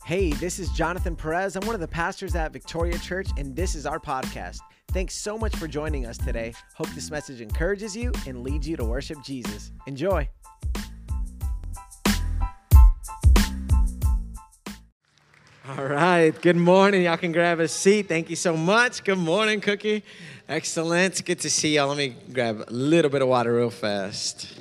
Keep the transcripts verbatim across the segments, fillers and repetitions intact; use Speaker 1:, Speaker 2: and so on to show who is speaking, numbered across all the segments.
Speaker 1: Hey, this is Jonathan Perez. I'm one of the pastors at Victoria Church, and this is our podcast. Thanks so much for joining us today. Hope this message encourages you and leads you to worship Jesus. Enjoy. All right. Good morning. Y'all can grab a seat. Thank you so much. Good morning, Cookie. Excellent. Good to see y'all. Let me grab a little bit of water real fast.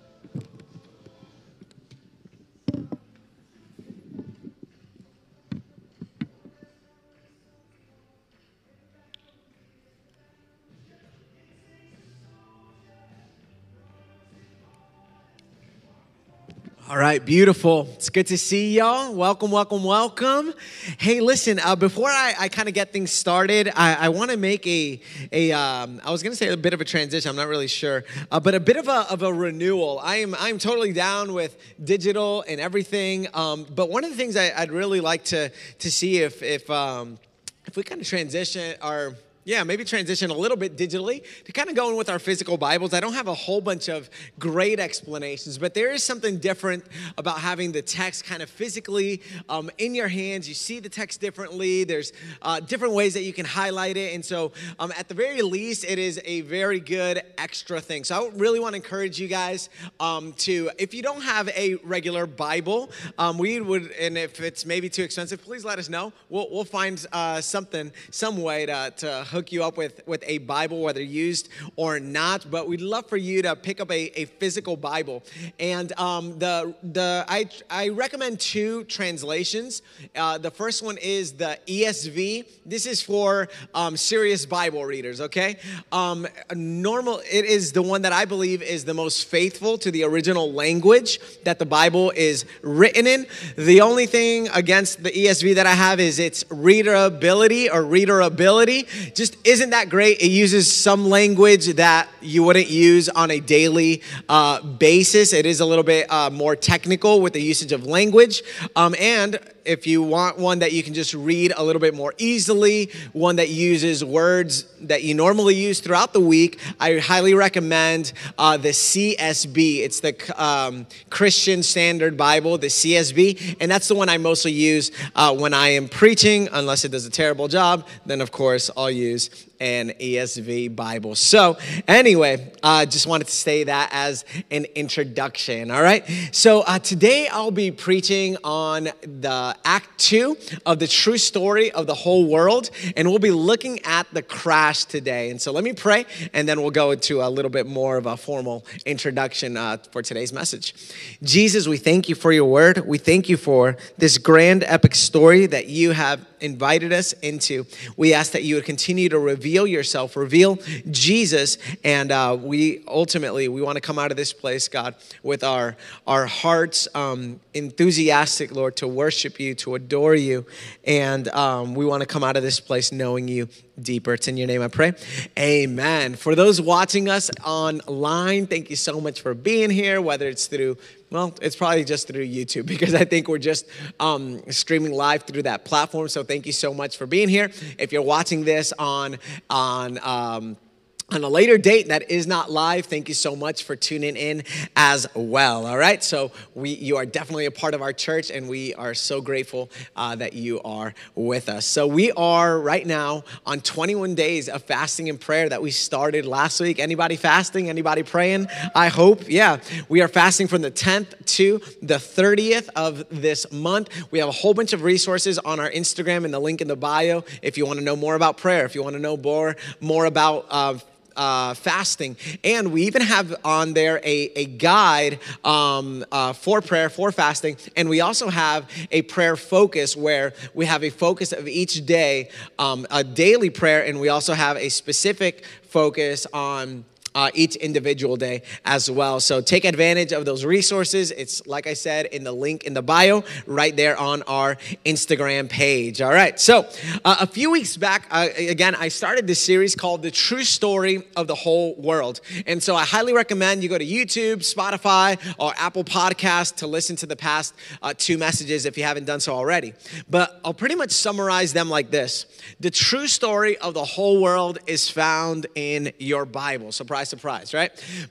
Speaker 1: All right, beautiful. It's good to see y'all. Welcome, welcome, welcome. Hey, listen, uh, before I, I kind of get things started, I, I want to make a, a um, I was going to say a bit of a transition. I'm not really sure, uh, but a bit of a, of a renewal. I am I'm totally down with digital and everything, um, but one of the things I, I'd really like to to see if, if, um, if we kind of transition our Yeah, maybe transition a little bit digitally to kind of go in with our physical Bibles. I don't have a whole bunch of great explanations, but there is something different about having the text kind of physically um, in your hands. You see the text differently. There's uh, different ways that you can highlight it. And so um, at the very least, it is a very good extra thing. So I really want to encourage you guys um, to, if you don't have a regular Bible, um, we would, and if it's maybe too expensive, please let us know. We'll, we'll find uh, something, some way to, to hook you up with, with a Bible, whether used or not, but we'd love for you to pick up a, a physical Bible. And um, the the I I recommend two translations. Uh, the first one is the E S V. This is for um, serious Bible readers, okay? Um, normal, it is the one that I believe is the most faithful to the original language that the Bible is written in. The only thing against the E S V that I have is its readability or readerability. Just isn't that great. It uses some language that you wouldn't use on a daily uh, basis. It is a little bit uh, more technical with the usage of language. Um, and if you want one that you can just read a little bit more easily, one that uses words that you normally use throughout the week, I highly recommend uh, the C S B. It's the um, Christian Standard Bible, the C S B, and that's the one I mostly use uh, when I am preaching, unless it does a terrible job. Then, of course, I'll use an E S V Bible. So anyway, I uh, just wanted to say that as an introduction, all right? So uh, today I'll be preaching on the Act Two of the true story of the whole world, and we'll be looking at the crash today. And so let me pray, and then we'll go into a little bit more of a formal introduction uh, for today's message. Jesus, we thank you for your word. We thank you for this grand epic story that you have invited us into. We ask that you would continue to reveal yourself, reveal Jesus, and uh, we ultimately, we want to come out of this place, God, with our, our hearts um, enthusiastic, Lord, to worship you, to adore you, and um, we want to come out of this place knowing you deeper. It's in your name I pray. Amen. For those watching us online, thank you so much for being here, whether it's through, well, it's probably just through YouTube because I think we're just um, streaming live through that platform. So thank you so much for being here. If you're watching this on, on, um, on a later date that is not live, thank you so much for tuning in as well, all right? So we, you are definitely a part of our church, and we are so grateful uh, that you are with us. So we are right now on twenty-one days of fasting and prayer that we started last week. Anybody fasting? Anybody praying? I hope, yeah. We are fasting from the tenth to the thirtieth of this month. We have a whole bunch of resources on our Instagram and the link in the bio if you want to know more about prayer, if you want to know more, more about uh, Uh, fasting. And we even have on there a, a guide um, uh, for prayer, for fasting. And we also have a prayer focus where we have a focus of each day, um, a daily prayer. And we also have a specific focus on Uh, each individual day as well. So take advantage of those resources. It's, like I said, in the link in the bio right there on our Instagram page. All right. So uh, a few weeks back, uh, again, I started this series called The True Story of the Whole World. And so I highly recommend you go to YouTube, Spotify, or Apple Podcasts to listen to the past uh, two messages if you haven't done so already. But I'll pretty much summarize them like this. The true story of the whole world is found in your Bible. Surprise, surprise, right? But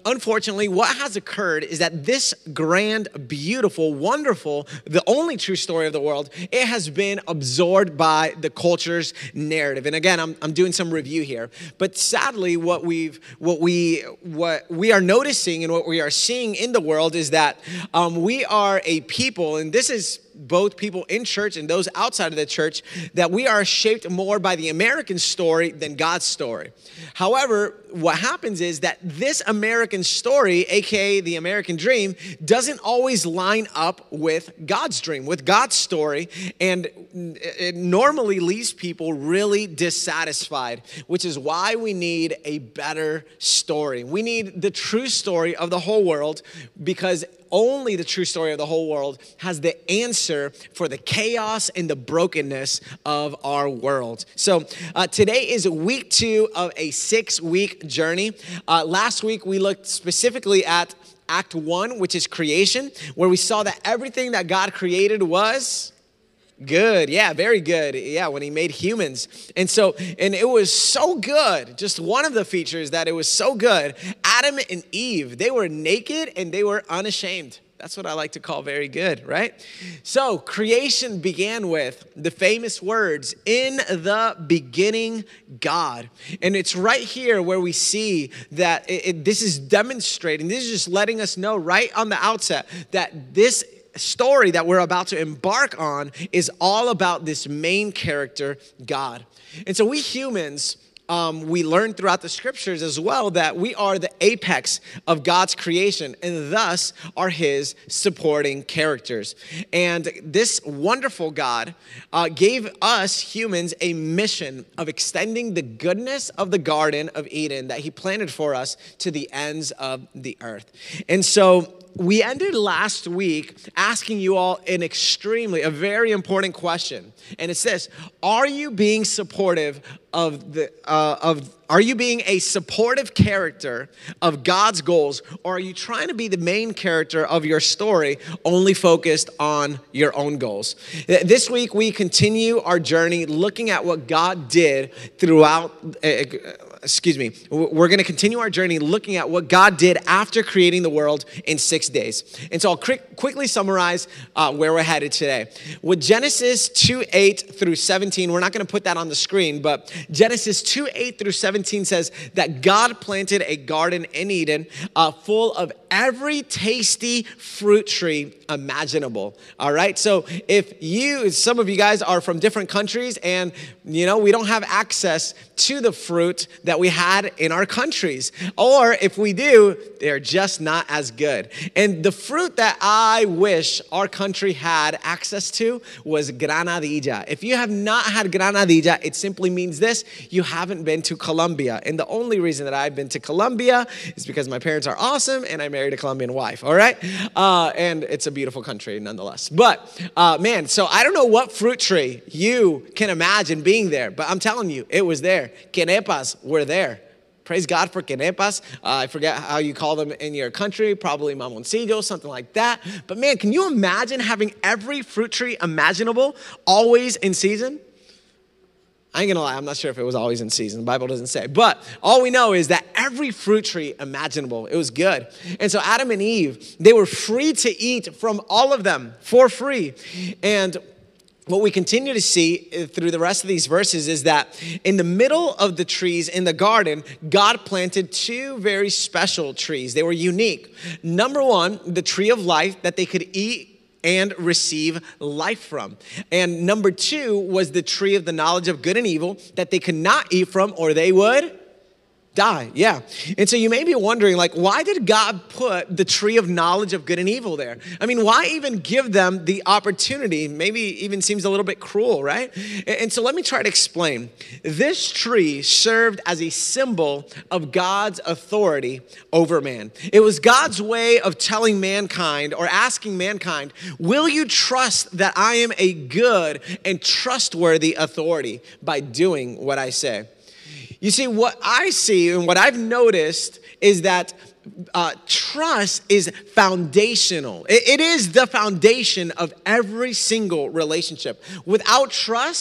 Speaker 1: unfortunately, what has occurred is that this grand, beautiful, wonderful, the only true story of the world, it has been absorbed by the culture's narrative. And again, I'm, I'm doing some review here. But sadly, what we've what we what we are noticing and what we are seeing in the world is that um, we are a people, and this is both people in church and those outside of the church, that we are shaped more by the American story than God's story. However, what happens is that this American story, aka the American dream, doesn't always line up with God's dream, with God's story, and it normally leaves people really dissatisfied, which is why we need a better story. We need the true story of the whole world, because only the true story of the whole world has the answer for the chaos and the brokenness of our world. So uh, today is week two of a six-week journey. Uh, last week, we looked specifically at Act one, which is creation, where we saw that everything that God created was good. Yeah, very good. Yeah, when he made humans. And so, and it was so good. Just one of the features that it was so good. Adam and Eve, they were naked and they were unashamed. That's what I like to call very good, right? So creation began with the famous words, "In the beginning, God." And it's right here where we see that it, it, this is demonstrating, this is just letting us know right on the outset that this story that we're about to embark on is all about this main character, God. And so we humans, um, we learn throughout the scriptures as well that we are the apex of God's creation and thus are his supporting characters. And this wonderful God uh, gave us humans a mission of extending the goodness of the Garden of Eden that he planted for us to the ends of the earth. And so we ended last week asking you all an extremely, a very important question. And it's this: are you being supportive of the, uh, of, are you being a supportive character of God's goals, or are you trying to be the main character of your story, only focused on your own goals? This week, we continue our journey looking at what God did throughout, uh, excuse me, we're going to continue our journey looking at what God did after creating the world in six days. And so I'll quick, quickly summarize uh, where we're headed today. With Genesis two eight through seventeen, we're not going to put that on the screen, but Genesis two eight through seventeen says that God planted a garden in Eden uh, full of every tasty fruit tree imaginable. All right. So if you, some of you guys are from different countries and, you know, we don't have access to the fruit that we had in our countries, or if we do, they're just not as good. And the fruit that I wish our country had access to was granadilla. If you have not had granadilla, it simply means this: you haven't been to Colombia. And the only reason that I've been to Colombia is because my parents are awesome and I married a Colombian wife, all right? Uh, and it's a beautiful country nonetheless. But uh, man, so I don't know what fruit tree you can imagine being there, but I'm telling you, it was there. Quenepas were there. Praise God for quenepas. Uh, I forget how you call them in your country, probably mamoncillo, something like that. But man, can you imagine having every fruit tree imaginable always in season? I ain't gonna lie, I'm not sure if it was always in season. The Bible doesn't say. But all we know is that every fruit tree imaginable, it was good. And so Adam and Eve, they were free to eat from all of them for free. And what we continue to see through the rest of these verses is that in the middle of the trees in the garden, God planted two very special trees. They were unique. Number one, the tree of life that they could eat and receive life from. And number two was the tree of the knowledge of good and evil that they could not eat from or they would die. Yeah. And so you may be wondering, like, why did God put the tree of knowledge of good and evil there? I mean, why even give them the opportunity? Maybe even seems a little bit cruel, right? And so let me try to explain. This tree served as a symbol of God's authority over man. It was God's way of telling mankind or asking mankind, will you trust that I am a good and trustworthy authority by doing what I say? You see, what I see and what I've noticed is that uh, trust is foundational. It, it is the foundation of every single relationship. Without trust,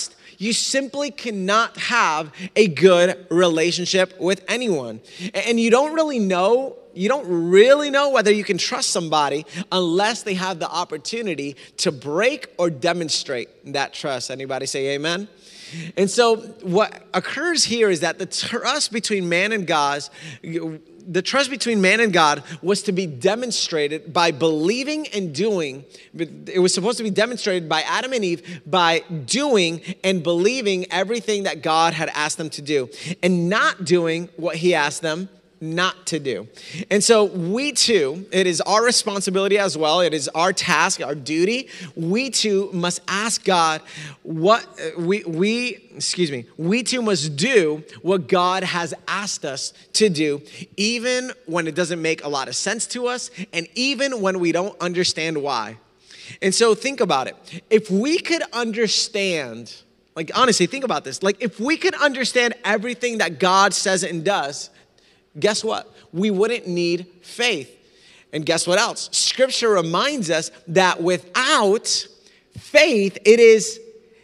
Speaker 1: you simply cannot have a good relationship with anyone. And you don't really know, you don't really know whether you can trust somebody unless they have the opportunity to break or demonstrate that trust. Anybody say amen? And so what occurs here is that the trust between man and God, the trust between man and God was to be demonstrated by believing and doing. It was supposed to be demonstrated by Adam and Eve by doing and believing everything that God had asked them to do and not doing what he asked them not to do. And so we too, it is our responsibility as well. It is our task, our duty. We too must ask God what we, we, excuse me, we too must do what God has asked us to do, even when it doesn't make a lot of sense to us and even when we don't understand why. And so think about it. If we could understand, like honestly, think about this. Like if we could understand everything that God says and does, guess what? We wouldn't need faith. And guess what else? Scripture reminds us that without faith, it is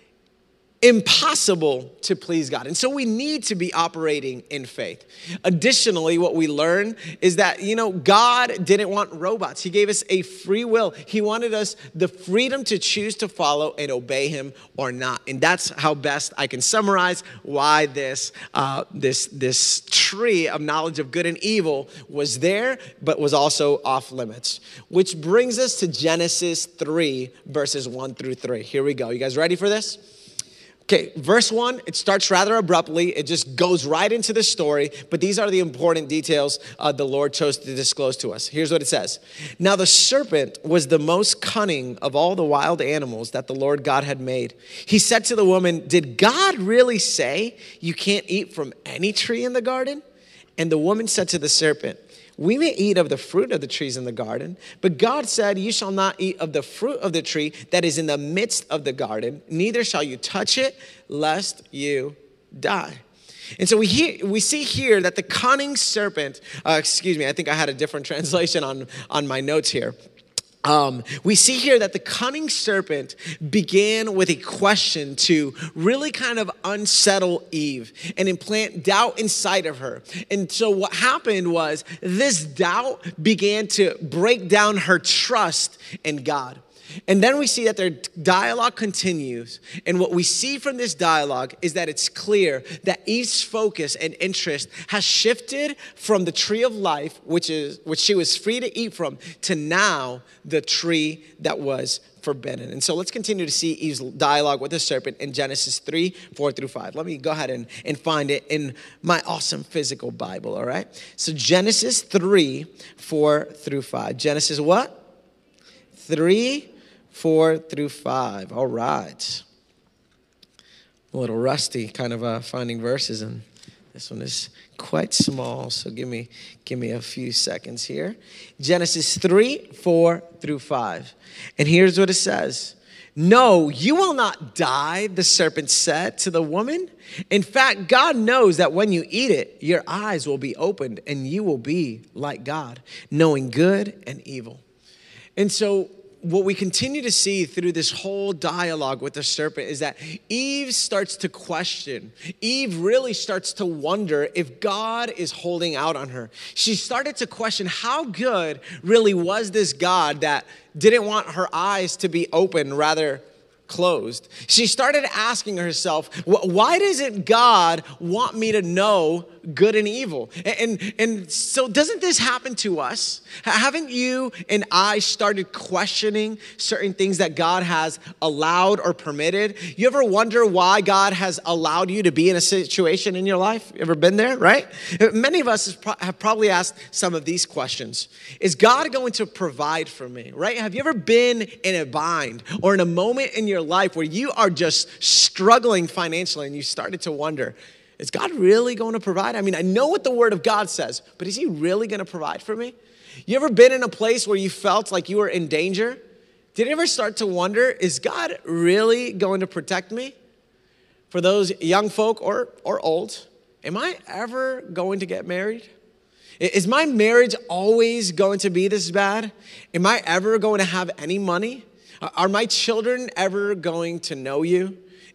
Speaker 1: impossible to please God. And so we need to be operating in faith. Additionally, what we learn is that, you know, God didn't want robots. He gave us a free will. He wanted us the freedom to choose to follow and obey him or not. And that's how best I can summarize why this, uh, this, this tree of knowledge of good and evil was there, but was also off limits. Which brings us to Genesis three, verses one through three. Here we go. You guys ready for this? Okay, verse one, it starts rather abruptly. It just goes right into the story, but these are the important details uh, the Lord chose to disclose to us. Here's what it says. Now the serpent was the most cunning of all the wild animals that the Lord God had made. He said to the woman, "Did God really say you can't eat from any tree in the garden?" And the woman said to the serpent, "We may eat of the fruit of the trees in the garden, but God said, you shall not eat of the fruit of the tree that is in the midst of the garden, neither shall you touch it, lest you die." And so we hear, we see here that the cunning serpent, uh, excuse me, I think I had a different translation on, on my notes here. Um, we see here that the cunning serpent began with a question to really kind of unsettle Eve and implant doubt inside of her. And so what happened was this doubt began to break down her trust in God. And then we see that their dialogue continues. And what we see from this dialogue is that it's clear that Eve's focus and interest has shifted from the tree of life, which is which she was free to eat from, to now the tree that was forbidden. And so let's continue to see Eve's dialogue with the serpent in Genesis three, four through five. Let me go ahead and, and find it in my awesome physical Bible, all right? So Genesis three, four through five. Genesis what? three, four through five. All right. I'm a little rusty kind of uh, finding verses, and this one is quite small, so give me give me a few seconds here. Genesis three, four through five. And here's what it says. "No, you will not die," the serpent said to the woman. "In fact, God knows that when you eat it, your eyes will be opened and you will be like God, knowing good and evil." And so what we continue to see through this whole dialogue with the serpent is that Eve starts to question. Eve really starts to wonder if God is holding out on her. She started to question how good really was this God that didn't want her eyes to be open, rather closed. She started asking herself, why doesn't God want me to know good and evil? And, and, and so doesn't this happen to us? Haven't you and I started questioning certain things that God has allowed or permitted? You ever wonder why God has allowed you to be in a situation in your life? You ever been there, right? Many of us have probably asked some of these questions. Is God going to provide for me, right? Have you ever been in a bind or in a moment in your life where you are just struggling financially and you started to wonder, is God really going to provide? I mean, I know what the word of God says, but is he really going to provide for me? You ever been in a place where you felt like you were in danger? Did you ever start to wonder, is God really going to protect me? For those young folk or, or old, am I ever going to get married? Is my marriage always going to be this bad? Am I ever going to have any money? Are my children ever going to know you?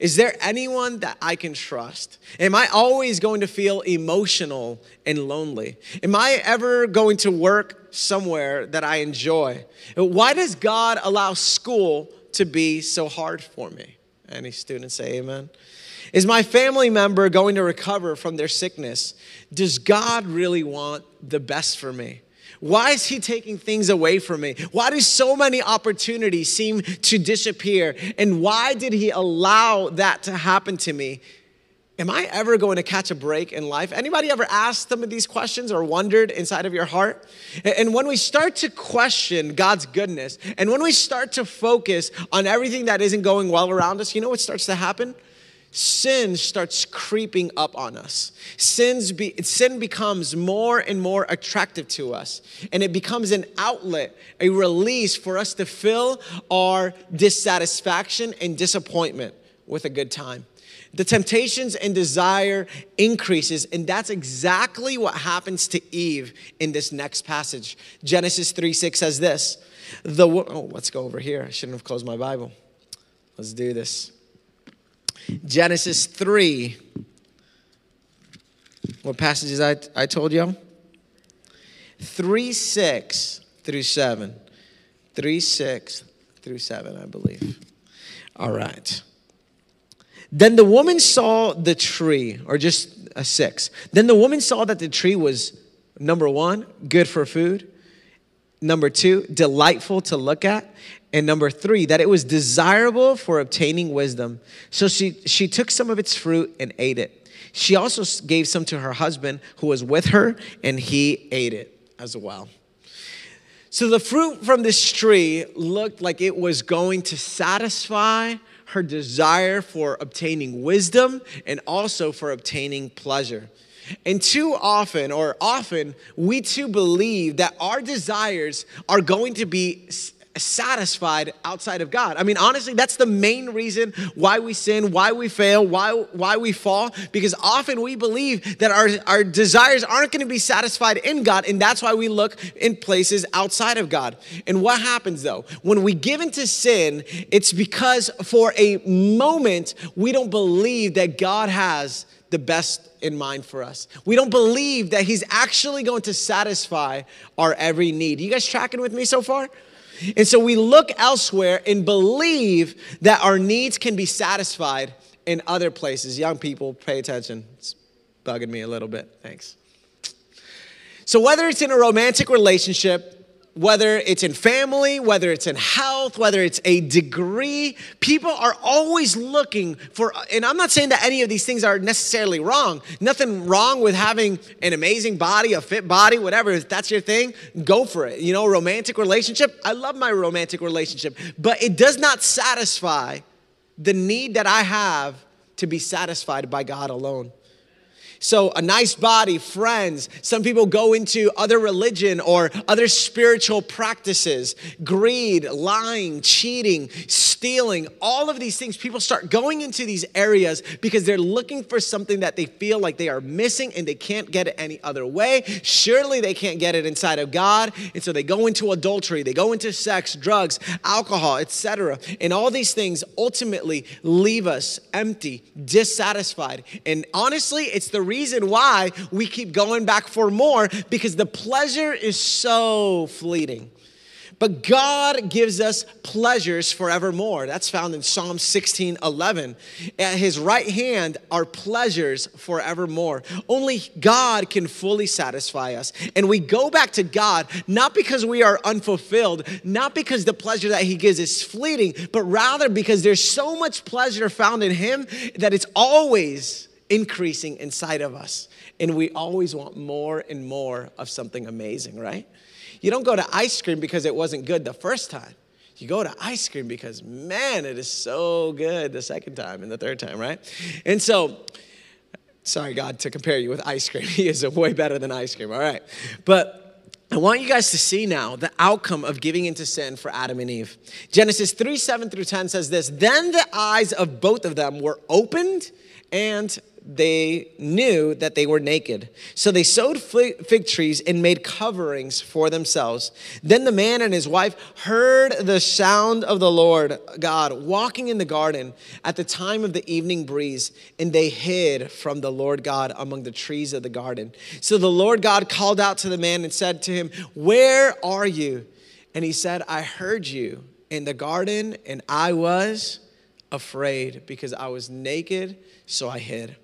Speaker 1: Is there anyone that I can trust? Am I always going to feel emotional and lonely? Am I ever going to work somewhere that I enjoy? Why does God allow school to be so hard for me? Any students say amen? Is my family member going to recover from their sickness? Does God really want the best for me? Why is he taking things away from me? Why do so many opportunities seem to disappear? And why did he allow that to happen to me? Am I ever going to catch a break in life? Anybody ever asked some of these questions or wondered inside of your heart? And when we start to question God's goodness, and when we start to focus on everything that isn't going well around us, you know what starts to happen? Sin starts creeping up on us. Sins be, sin becomes more and more attractive to us. And it becomes an outlet, a release for us to fill our dissatisfaction and disappointment with a good time. The temptations and desire increases, and that's exactly what happens to Eve in this next passage. Genesis three six says this. The oh, let's go over here. I shouldn't have closed my Bible. Let's do this. Genesis three. What passages I, I told you? three six through seven. three six through seven, I believe. All right. Then the woman saw the tree, or just a six. Then the woman saw that the tree was, number one, good for food. Number two, delightful to look at. And number three, that it was desirable for obtaining wisdom. So she, she took some of its fruit and ate it. She also gave some to her husband who was with her, and he ate it as well. So the fruit from this tree looked like it was going to satisfy her desire for obtaining wisdom and also for obtaining pleasure. And too often, or often, we too believe that our desires are going to be satisfied outside of God. I mean, honestly, that's the main reason why we sin, why we fail, why why we fall, because often we believe that our, our desires aren't going to be satisfied in God, and that's why we look in places outside of God. And what happens though? When we give into sin, it's because for a moment, we don't believe that God has the best in mind for us. We don't believe that he's actually going to satisfy our every need. You guys tracking with me so far? And so we look elsewhere and believe that our needs can be satisfied in other places. Young people, pay attention. It's bugging me a little bit. Thanks. So whether it's in a romantic relationship, whether it's in family, whether it's in health, whether it's a degree, people are always looking for, and I'm not saying that any of these things are necessarily wrong. Nothing wrong with having an amazing body, a fit body, whatever. If that's your thing, go for it. You know, romantic relationship, I love my romantic relationship, but it does not satisfy the need that I have to be satisfied by God alone. So a nice body, friends, some people go into other religion or other spiritual practices, greed, lying, cheating, stealing, all of these things. People start going into these areas because they're looking for something that they feel like they are missing and they can't get it any other way. Surely they can't get it inside of God. And so they go into adultery, they go into sex, drugs, alcohol, et cetera. And all these things ultimately leave us empty, dissatisfied. And honestly, it's the reason why we keep going back for more, because the pleasure is so fleeting. But God gives us pleasures forevermore. That's found in Psalm sixteen eleven. At his right hand are pleasures forevermore. Only God can fully satisfy us. And we go back to God, not because we are unfulfilled, not because the pleasure that he gives is fleeting, but rather because there's so much pleasure found in him that it's always increasing inside of us. And we always want more and more of something amazing, right? You don't go to ice cream because it wasn't good the first time. You go to ice cream because, man, it is so good the second time and the third time, right? And so, sorry, God, to compare you with ice cream. He is way better than ice cream, all right? But I want you guys to see now the outcome of giving into sin for Adam and Eve. Genesis three, seven through ten says this, then the eyes of both of them were opened and they knew that they were naked. So they sewed fig trees and made coverings for themselves. Then the man and his wife heard the sound of the Lord God walking in the garden at the time of the evening breeze, and they hid from the Lord God among the trees of the garden. So the Lord God called out to the man and said to him, "Where are you?" And he said, "I heard you in the garden, and I was afraid because I was naked, so I hid."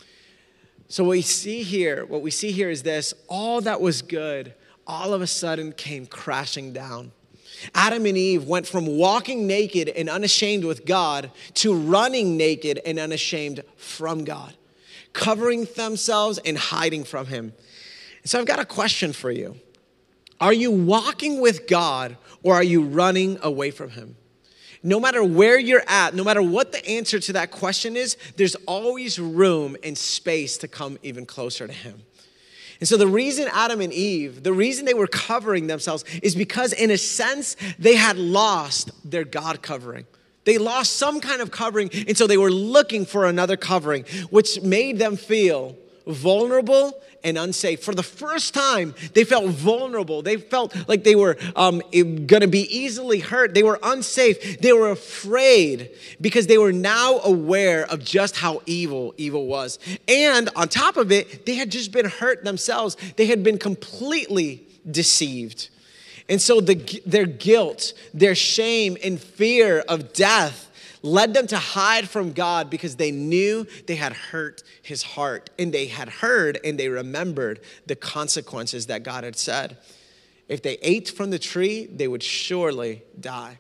Speaker 1: So what we see here, what we see here is this: all that was good, all of a sudden came crashing down. Adam and Eve went from walking naked and unashamed with God to running naked and unashamed from God, covering themselves and hiding from him. So I've got a question for you. Are you walking with God, or are you running away from him? No matter where you're at, no matter what the answer to that question is, there's always room and space to come even closer to him. And so the reason Adam and Eve, the reason they were covering themselves is because in a sense, they had lost their God covering. They lost some kind of covering, and so they were looking for another covering, which made them feel vulnerable and unsafe. For the first time, they felt vulnerable. They felt like they were um, going to be easily hurt. They were unsafe. They were afraid because they were now aware of just how evil evil was. And on top of it, they had just been hurt themselves. They had been completely deceived. And so the, their guilt, their shame, and fear of death led them to hide from God because they knew they had hurt his heart, and they had heard and they remembered the consequences that God had said. If they ate from the tree, they would surely die.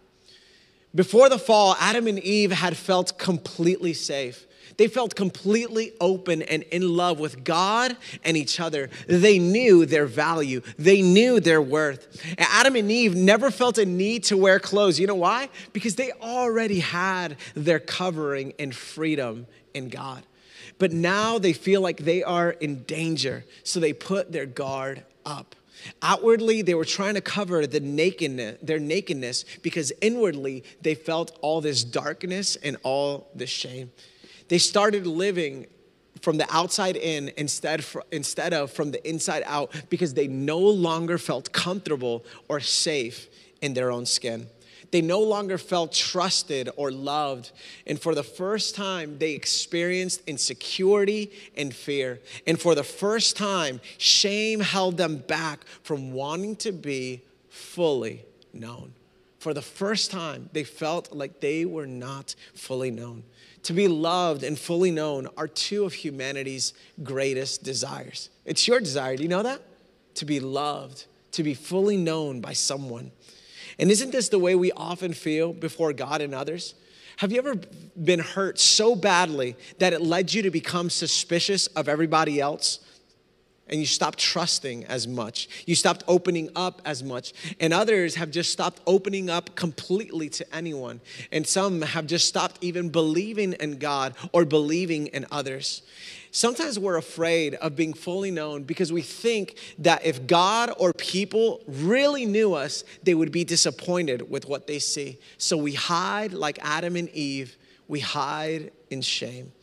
Speaker 1: Before the fall, Adam and Eve had felt completely safe. They felt completely open and in love with God and each other. They knew their value. They knew their worth. And Adam and Eve never felt a need to wear clothes. You know why? Because they already had their covering and freedom in God. But now they feel like they are in danger, so they put their guard up. Outwardly, they were trying to cover the nakedness, their nakedness, because inwardly they felt all this darkness and all this shame. They started living from the outside in instead, instead of from the inside out, because they no longer felt comfortable or safe in their own skin. They no longer felt trusted or loved. And for the first time, they experienced insecurity and fear. And for the first time, shame held them back from wanting to be fully known. For the first time, they felt like they were not fully known. To be loved and fully known are two of humanity's greatest desires. It's your desire. Do you know that? To be loved, to be fully known by someone. And isn't this the way we often feel before God and others? Have you ever been hurt so badly that it led you to become suspicious of everybody else? And you stopped trusting as much. You stopped opening up as much. And others have just stopped opening up completely to anyone. And some have just stopped even believing in God or believing in others. Sometimes we're afraid of being fully known because we think that if God or people really knew us, they would be disappointed with what they see. So we hide like Adam and Eve. We hide in shame.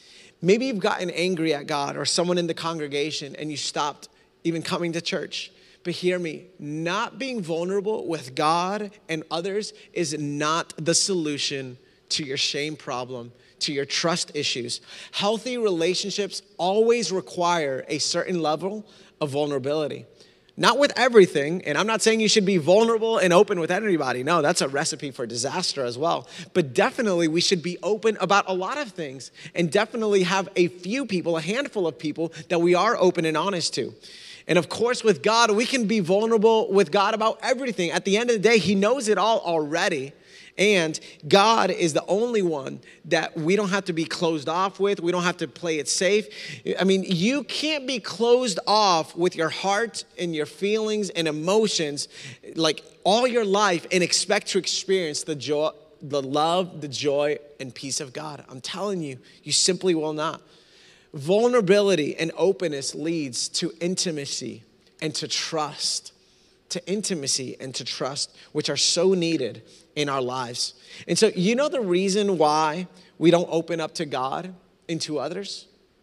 Speaker 1: Maybe you've gotten angry at God or someone in the congregation and you stopped even coming to church. But hear me, not being vulnerable with God and others is not the solution to your shame problem, to your trust issues. Healthy relationships always require a certain level of vulnerability. Not with everything, and I'm not saying you should be vulnerable and open with anybody. No, that's a recipe for disaster as well. But definitely we should be open about a lot of things, and definitely have a few people, a handful of people that we are open and honest to. And of course, with God, we can be vulnerable with God about everything. At the end of the day, He knows it all already. And God is the only one that we don't have to be closed off with. We don't have to play it safe. I mean, you can't be closed off with your heart and your feelings and emotions like all your life and expect to experience the joy, the love, the joy, and peace of God. I'm telling you, you simply will not. Vulnerability and openness leads to intimacy and to trust. To intimacy and to trust, which are so needed in our lives. And so, you know the reason why we don't open up to God and to others?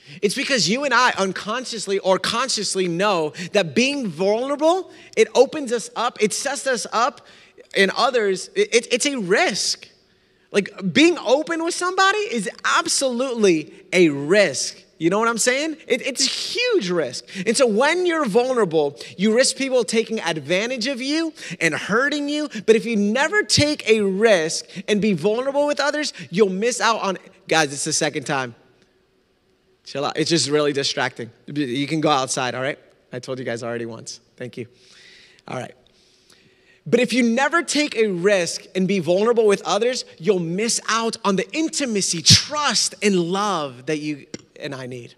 Speaker 1: It's because you and I unconsciously or consciously know that being vulnerable, it opens us up, it sets us up in others. It, it's a risk. Like being open with somebody is absolutely a risk. You know what I'm saying? It, it's a huge risk. And so when you're vulnerable, you risk people taking advantage of you and hurting you. But if you never take a risk and be vulnerable with others, you'll miss out on, guys, it's the second time. Chill out. It's just really distracting. You can go outside, all right? I told you guys already once. Thank you. All right. But if you never take a risk and be vulnerable with others, you'll miss out on the intimacy, trust, and love that you and I need.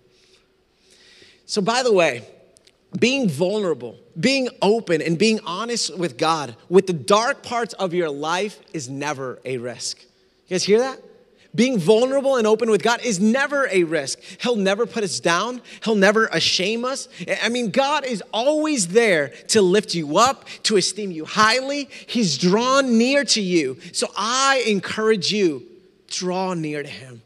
Speaker 1: So by the way, being vulnerable, being open, and being honest with God, with the dark parts of your life is never a risk. You guys hear that? Being vulnerable and open with God is never a risk. He'll never put us down. He'll never shame us. I mean, God is always there to lift you up, to esteem you highly. He's drawn near to you. So I encourage you, draw near to him.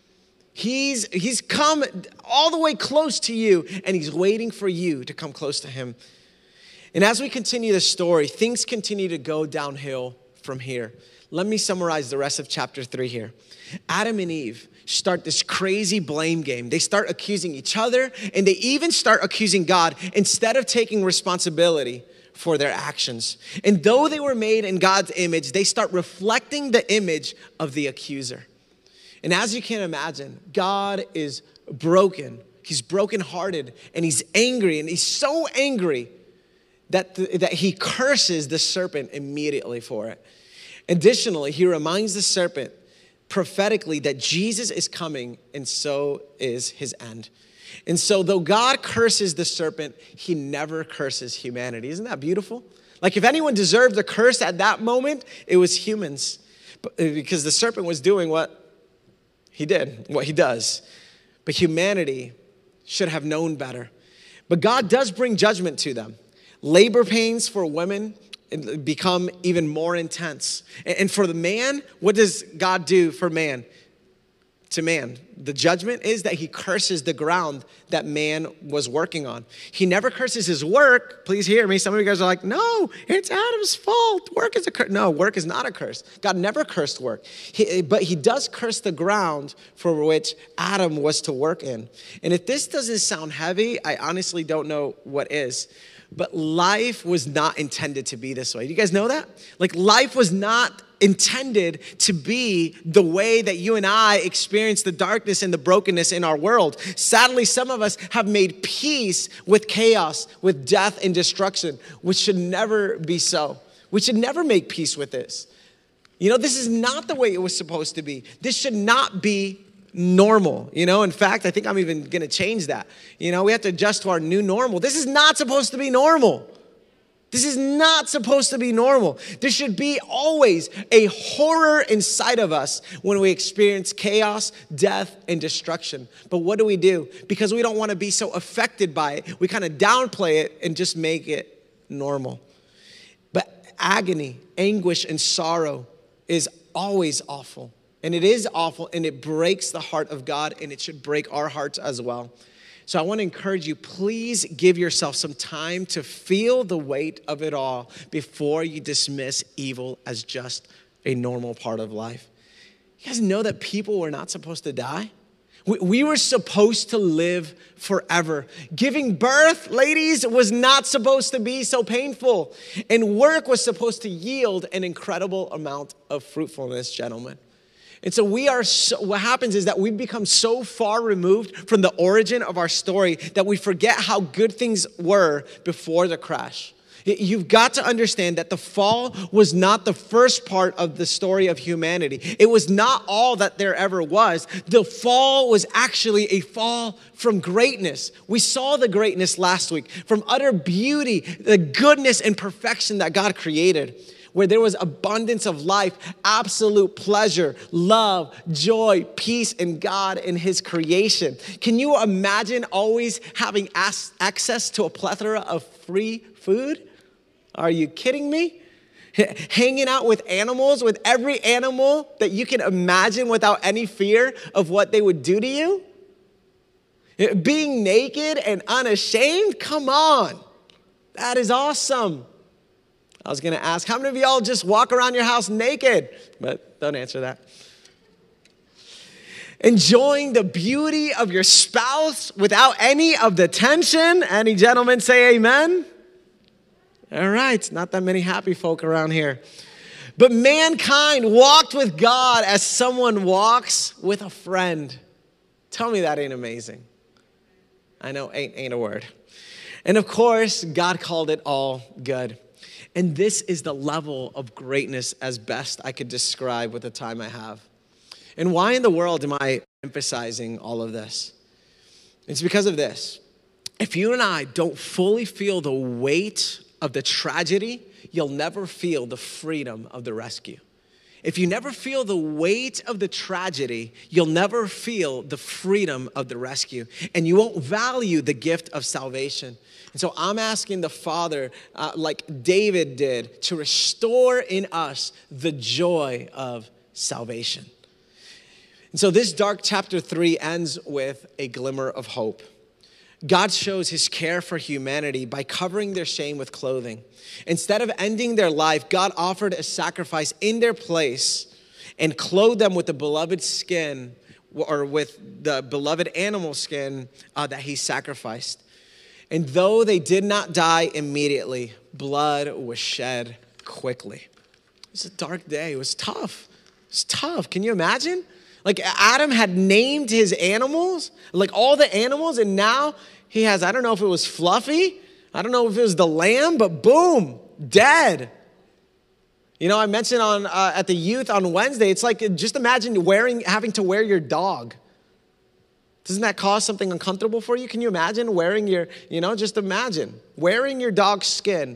Speaker 1: He's, he's come all the way close to you, and he's waiting for you to come close to him. And as we continue the story, things continue to go downhill from here. Let me summarize the rest of chapter three here. Adam and Eve start this crazy blame game. They start accusing each other, and they even start accusing God instead of taking responsibility for their actions. And though they were made in God's image, they start reflecting the image of the accuser. And as you can imagine, God is broken. He's brokenhearted, and he's angry, and he's so angry that, the, that he curses the serpent immediately for it. Additionally, he reminds the serpent prophetically that Jesus is coming, and so is his end. And so though God curses the serpent, he never curses humanity. Isn't that beautiful? Like if anyone deserved a curse at that moment, it was humans, because the serpent was doing what he did, what he does. But humanity should have known better. But God does bring judgment to them. Labor pains for women become even more intense. And for the man, what does God do for man? To man, the judgment is that he curses the ground that man was working on. He never curses his work. Please hear me. Some of you guys are like, no, it's Adam's fault. Work is a curse. No, work is not a curse. God never cursed work. He, but he does curse the ground for which Adam was to work in. And if this doesn't sound heavy, I honestly don't know what is. But life was not intended to be this way. Do you guys know that? Like life was not intended to be the way that you and I experience the darkness and the brokenness in our world. Sadly, some of us have made peace with chaos, with death and destruction, which should never be so. We should never make peace with this. You know, this is not the way it was supposed to be. This should not be normal. You know, in fact, I think I'm even going to change that. You know, we have to adjust to our new normal. This is not supposed to be normal. This is not supposed to be normal. There should be always a horror inside of us when we experience chaos, death, and destruction. But what do we do? Because we don't want to be so affected by it, we kind of downplay it and just make it normal. But agony, anguish, and sorrow is always awful. And it is awful, and it breaks the heart of God, and it should break our hearts as well. So I want to encourage you, please give yourself some time to feel the weight of it all before you dismiss evil as just a normal part of life. You guys know that people were not supposed to die? We, we were supposed to live forever. Giving birth, ladies, was not supposed to be so painful. And work was supposed to yield an incredible amount of fruitfulness, gentlemen. And so we are, so, what happens is that we become so far removed from the origin of our story that we forget how good things were before the crash. You've got to understand that the fall was not the first part of the story of humanity. It was not all that there ever was. The fall was actually a fall from greatness. We saw the greatness last week, from utter beauty, the goodness and perfection that God created, where there was abundance of life, absolute pleasure, love, joy, peace in God and his creation. Can you imagine always having access to a plethora of free food? Are you kidding me? Hanging out with animals, with every animal that you can imagine without any fear of what they would do to you? Being naked and unashamed? Come on. That is awesome. I was going to ask, how many of y'all just walk around your house naked? But don't answer that. Enjoying the beauty of your spouse without any of the tension. Any gentlemen say amen? All right, not that many happy folk around here. But mankind walked with God as someone walks with a friend. Tell me that ain't amazing. I know ain't ain't a word. And of course, God called it all good. And this is the level of greatness as best I could describe with the time I have. And why in the world am I emphasizing all of this? It's because of this. If you and I don't fully feel the weight of the tragedy, you'll never feel the freedom of the rescue. If you never feel the weight of the tragedy, you'll never feel the freedom of the rescue. And you won't value the gift of salvation. And so I'm asking the Father, uh, like David did, to restore in us the joy of salvation. And so this dark chapter three ends with a glimmer of hope. God shows his care for humanity by covering their shame with clothing. Instead of ending their life, God offered a sacrifice in their place and clothed them with the beloved skin, or with the beloved animal skin uh, that he sacrificed. And though they did not die immediately, blood was shed quickly. It was a dark day. It was tough. It was tough. Can you imagine? Like Adam had named his animals, like all the animals, and now he has, I don't know if it was Fluffy, I don't know if it was the lamb, but boom, dead. You know, I mentioned on uh, at the youth on Wednesday, it's like, just imagine wearing, having to wear your dog. Doesn't that cause something uncomfortable for you? Can you imagine wearing your, you know, just imagine wearing your dog's skin.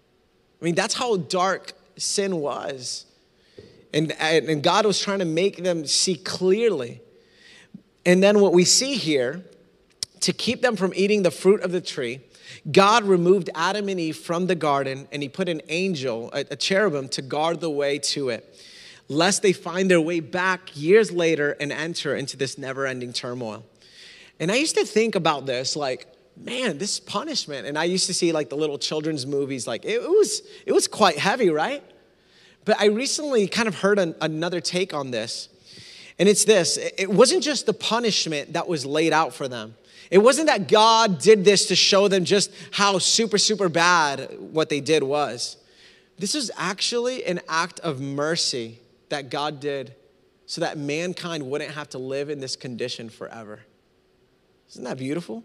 Speaker 1: I mean, that's how dark sin was. And, and God was trying to make them see clearly. And then what we see here, to keep them from eating the fruit of the tree, God removed Adam and Eve from the garden, and he put an angel, a, a cherubim, to guard the way to it, lest they find their way back years later and enter into this never-ending turmoil. And I used to think about this, like, man, this punishment. And I used to see like the little children's movies, like it, it was it was quite heavy, right? But I recently kind of heard an, another take on this. And it's this, it wasn't just the punishment that was laid out for them. It wasn't that God did this to show them just how super, super bad what they did was. This is actually an act of mercy that God did so that mankind wouldn't have to live in this condition forever. Isn't that beautiful?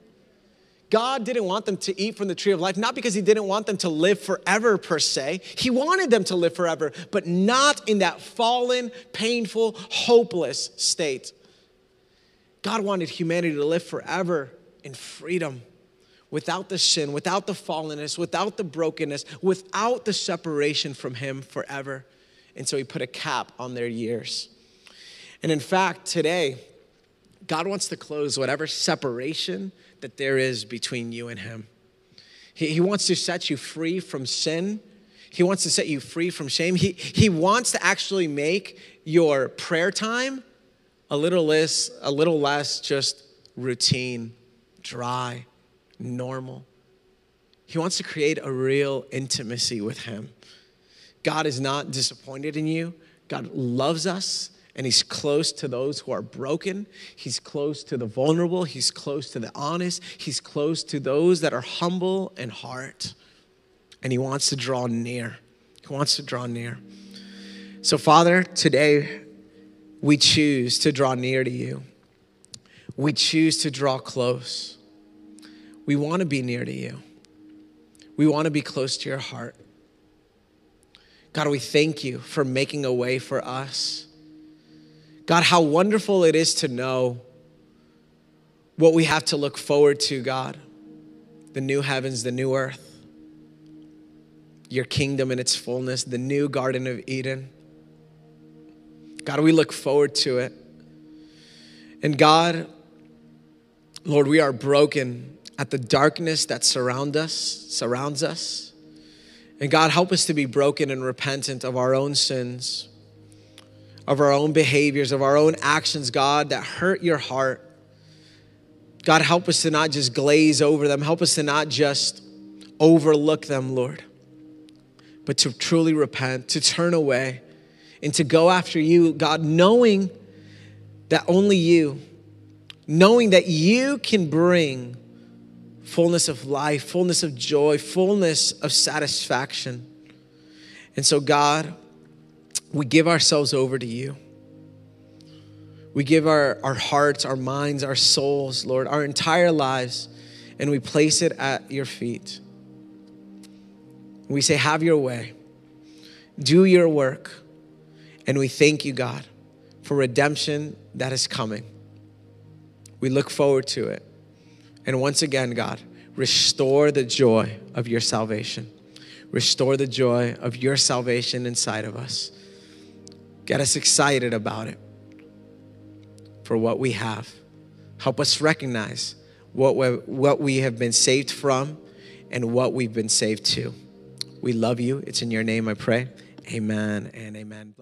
Speaker 1: God didn't want them to eat from the tree of life, not because he didn't want them to live forever per se. He wanted them to live forever, but not in that fallen, painful, hopeless state. God wanted humanity to live forever in freedom, without the sin, without the fallenness, without the brokenness, without the separation from him forever. And so he put a cap on their years. And in fact, today, God wants to close whatever separation that there is between you and him. He, he wants to set you free from sin. He wants to set you free from shame. He, he wants to actually make your prayer time a little less, a little less just routine, dry, normal. He wants to create a real intimacy with him. God is not disappointed in you. God loves us. And he's close to those who are broken. He's close to the vulnerable. He's close to the honest. He's close to those that are humble in heart. And he wants to draw near. He wants to draw near. So, Father, today we choose to draw near to you. We choose to draw close. We want to be near to you. We want to be close to your heart. God, we thank you for making a way for us. God, how wonderful it is to know what we have to look forward to, God. The new heavens, the new earth, your kingdom in its fullness, the new Garden of Eden. God, we look forward to it. And God, Lord, we are broken at the darkness that surround us, surrounds us. And God, help us to be broken and repentant of our own sins, of our own behaviors, of our own actions, God, that hurt your heart. God, help us to not just glaze over them. Help us to not just overlook them, Lord, but to truly repent, to turn away, and to go after you, God, knowing that only you, knowing that you can bring fullness of life, fullness of joy, fullness of satisfaction. And so, God, we give ourselves over to you. We give our, our hearts, our minds, our souls, Lord, our entire lives, and we place it at your feet. We say, have your way. Do your work. And we thank you, God, for redemption that is coming. We look forward to it. And once again, God, restore the joy of your salvation. Restore the joy of your salvation inside of us. Get us excited about it. For what we have. Help us recognize what we what we have been saved from and what we've been saved to. We love you. It's in your name I pray. Amen and amen.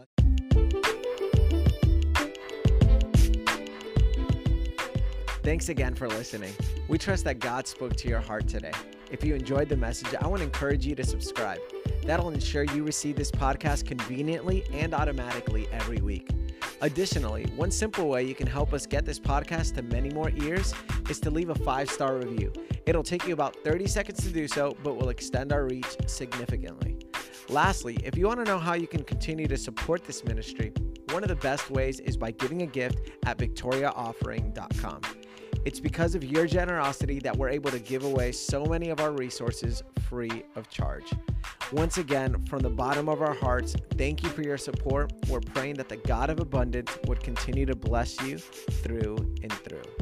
Speaker 1: Thanks again for listening. We trust that God spoke to your heart today. If you enjoyed the message, I want to encourage you to subscribe. That'll ensure you receive this podcast conveniently and automatically every week. Additionally, one simple way you can help us get this podcast to many more ears is to leave a five-star review. It'll take you about thirty seconds to do so, but will extend our reach significantly. Lastly, if you want to know how you can continue to support this ministry, one of the best ways is by giving a gift at victoria offering dot com. It's because of your generosity that we're able to give away so many of our resources free of charge. Once again, from the bottom of our hearts, thank you for your support. We're praying that the God of abundance would continue to bless you through and through.